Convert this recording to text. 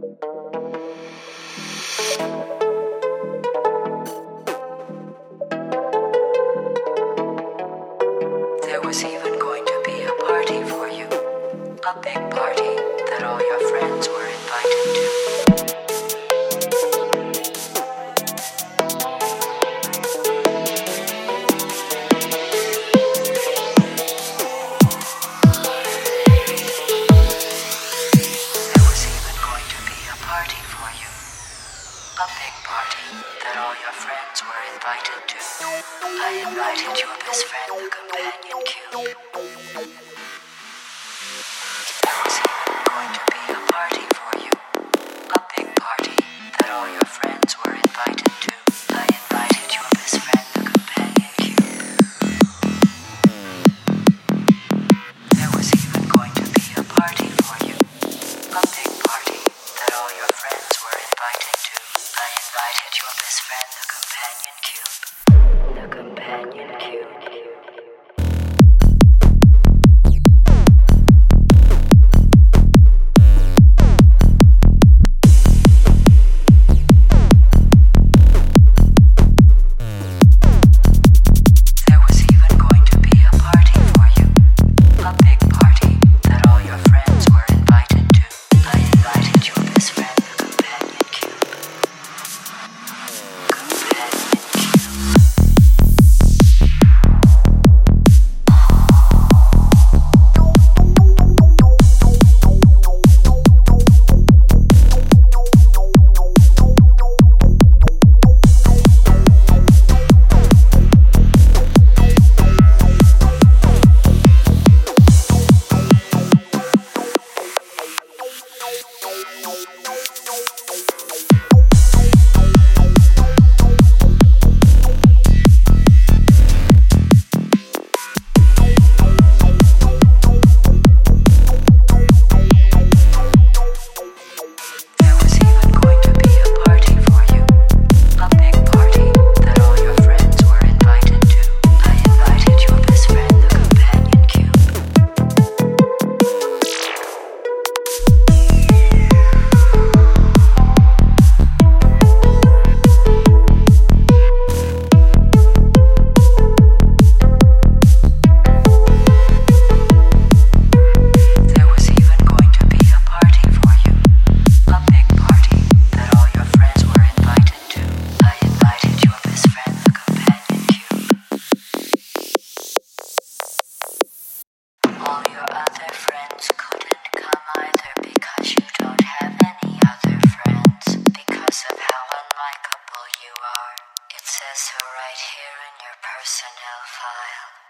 There was even going to be a party for you, a big party that all your friends were invited to. There was even going to be a party for you, a big party that all your friends were invited to. I invited your best friend, the companion cube. There was even going to be a party for you, a big party that all your friends were invited to. I invited your best friend, the companion cube. There was even going to be a party for you, a big party that all your friends were invited to. I invited your best friend, the companion cube. The companion cube. There was even going to be a party for you, a big party that all your friends were invited to. I invited your best friend, the companion cube. There was even going to be a party for you, a big party that all your friends were invited to. I invited your best friend, the companion cube. There was even going to be a party for you, a big party that all your friends were invited to. I invited your best friend, the companion cube. All your other friends couldn't come either because you don't have any other friends because of how unlikable you are. It says so right here in your personnel file.